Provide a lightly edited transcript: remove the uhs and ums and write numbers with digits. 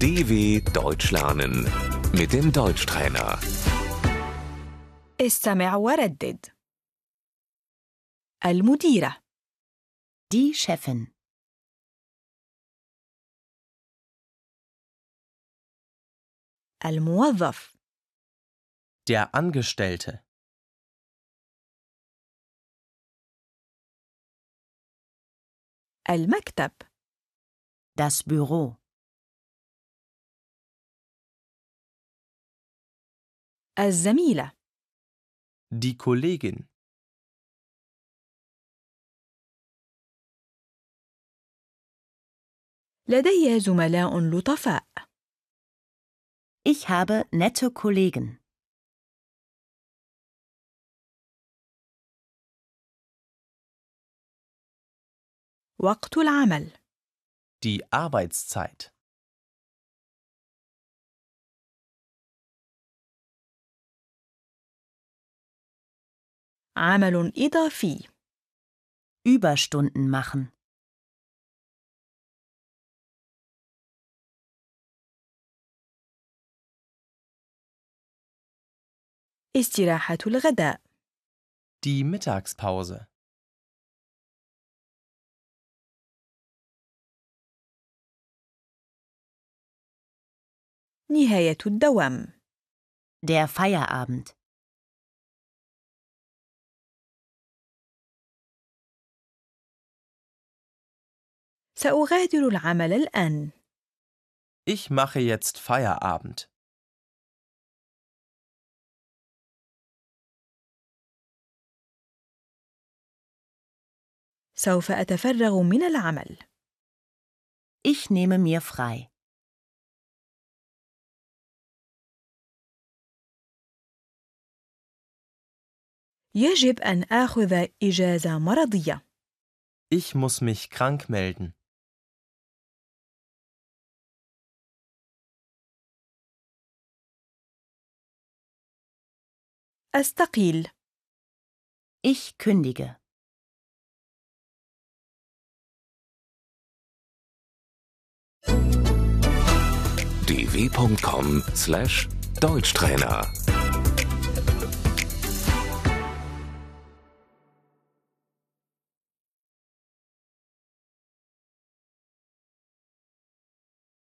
DW Deutsch lernen mit dem Deutschtrainer. استمع وردد. المديرة. Die Chefin. الموظف. Der Angestellte. المكتب. Das Büro. الزميلة. Die Kollegin. لدي زملاء لطفاء. Ich habe nette Kollegen. وقت العمل. Die Arbeitszeit. عمل إضافي. Überstunden machen. استراحة الغداء. Die Mittagspause. نهاية الدوام. Der Feierabend. سأغادر العمل الآن. Ich mache jetzt Feierabend. سوف أتفرغ من العمل. Ich nehme mir frei. يجب أن آخذ إجازة مرضية. Ich muss mich krank melden. أستقيل. Ich kündige. dw.com/Deutschtrainer